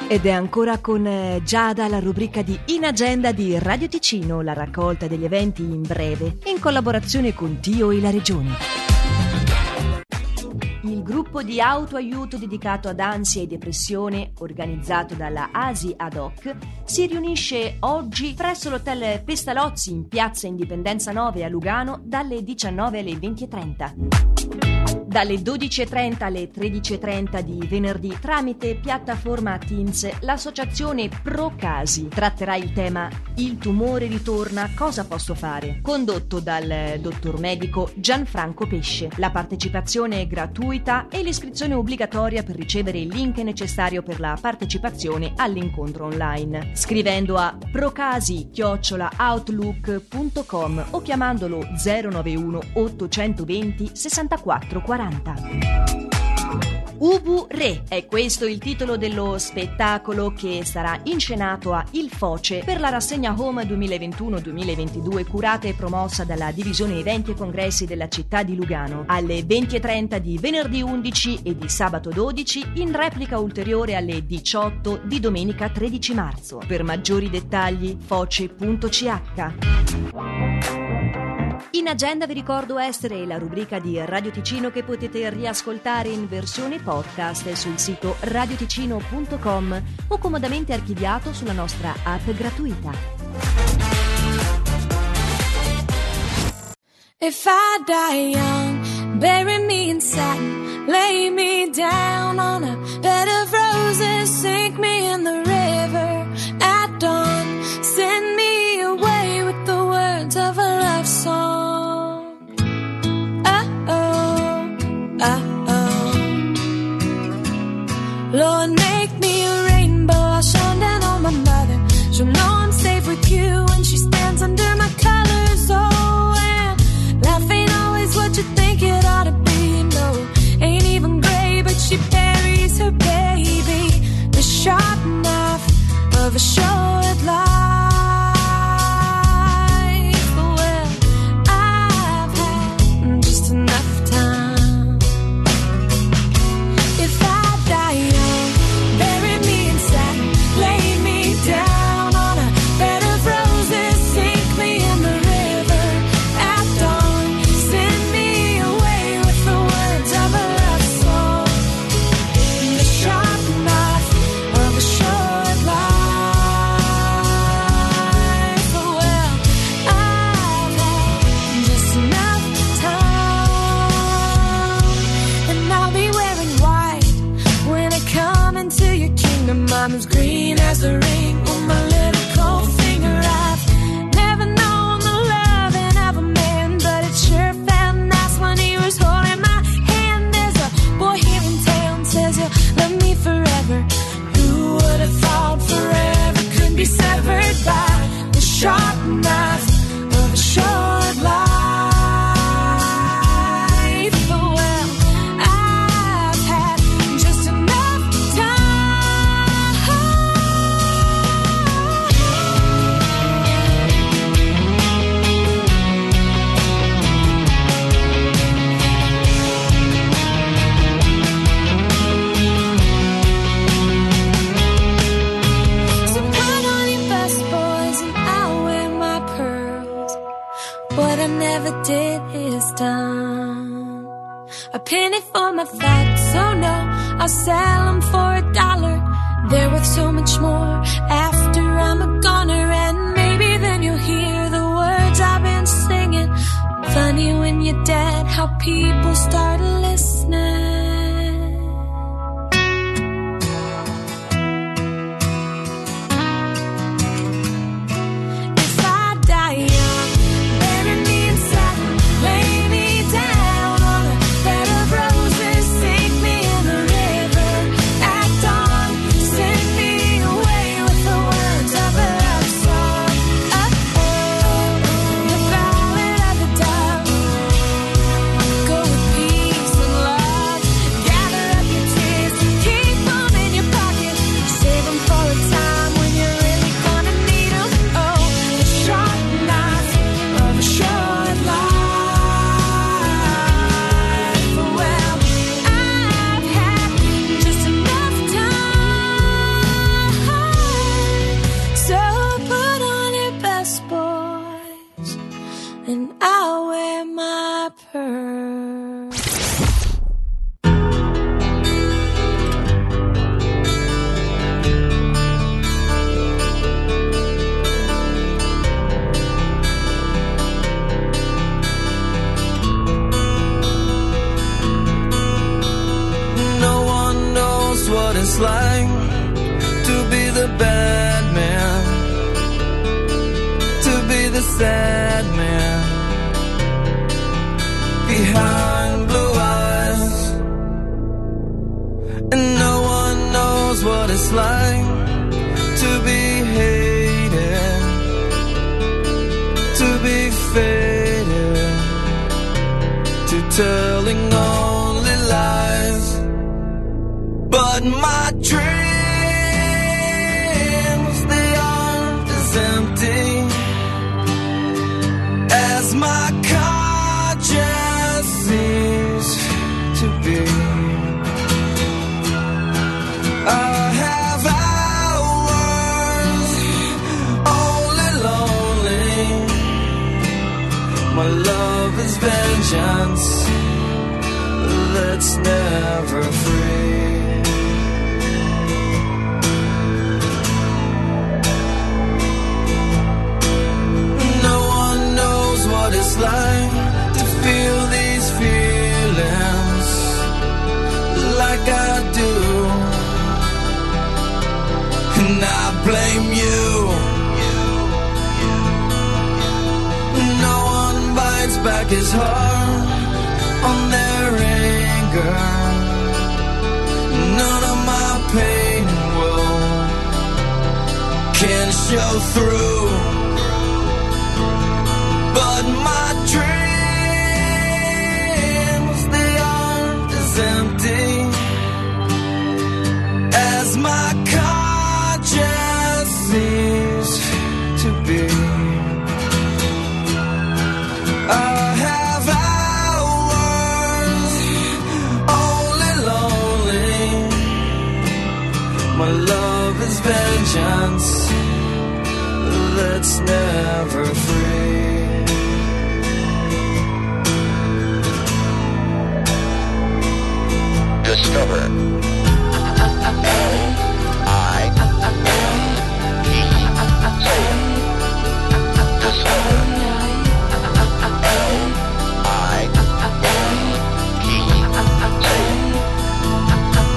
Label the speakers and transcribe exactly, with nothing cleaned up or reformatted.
Speaker 1: Ed è ancora con eh, Giada la rubrica di In Agenda di Radio Ticino, la raccolta degli eventi in breve, in collaborazione con Tio e la Regione. Il gruppo di autoaiuto dedicato ad ansia e depressione, organizzato dalla A S I ad hoc, si riunisce oggi presso l'hotel Pestalozzi in piazza Indipendenza nove a Lugano dalle diciannove alle venti e trenta. Dalle dodici e trenta alle tredici e trenta di venerdì, tramite piattaforma Teams, l'associazione Procasi tratterà il tema Il tumore ritorna, cosa posso fare? Condotto dal dottor medico Gianfranco Pesce. La partecipazione è gratuita e l'iscrizione obbligatoria per ricevere il link necessario per la partecipazione all'incontro online. Scrivendo a procasi chiocciola outlook punto com o chiamandolo zero nove uno ottocentoventi sessantaquattro quaranta. Ubu Re è questo il titolo dello spettacolo che sarà inscenato a Il Foce per la rassegna Home duemilaventuno duemilaventidue curata e promossa dalla divisione eventi e congressi della città di Lugano. Alle venti e trenta di venerdì undici e di sabato dodici, in replica ulteriore alle diciotto di domenica tredici marzo. Per maggiori dettagli foce punto c h. In Agenda vi ricordo essere la rubrica di Radio Ticino che potete riascoltare in versione podcast sul sito radioticino punto com o comodamente archiviato sulla nostra app gratuita.
Speaker 2: If I die young, bury me in satin, lay me down on a bed of roses, sink me in the river at dawn, send me away with the words of a love song. Lord, make me a rainbow, I'll shine down on my mother. She'll know I'm safe with you when she stands under my colors. Oh, and life ain't always what you think it ought to be. No, ain't even gray, but she buries her baby. The sharp knife of a short life. Well, I've had just enough time. If I die young, bury me in satin, lay me down on a bed of roses, sink me in the river at dawn, send me away with the words of a love song. The sharp knife of a short life. Well, I've had just enough time, and I'll be wearing white when I come into your kingdom. I'm as green as the ring on my little cold finger. I've never known the loving of a man, but it sure felt nice when he was holding my hand. There's a boy here in town says he'll love me forever. Who would have thought forever could be severed by the sharp knife of a short life? Well, I've had just enough time. So put on your best boys and I'll wear my pearls. What I never did is done. A penny for my thoughts, oh no, I'll sell them for a dollar. They're worth so much more after I'm a goner, and maybe then you'll hear the words I've been singing. Funny when you're dead, how people start listening. If I die young, bury me in satin, lay me down on a bed of roses, sink me in the river at dawn, send me away with the words of a love song. Oh, the ballad of the dove, go with peace and love.
Speaker 3: it's like to be the bad man, to be the sad man behind blue eyes. And no one knows what it's like to be hated, to be faded, to telling only lies. But my dreams, they aren't as empty as my conscience seems to be. I have hours only lonely. My love is vengeance that's never free. No one knows what it's like to feel these feelings like I do. And I blame you. No one bites back his heart on their anger. None of my pain will can show through. But my dreams, they aren't as empty as my conscience seems to be. I have hours only lonely. My love is vengeance that's never free.
Speaker 4: Discover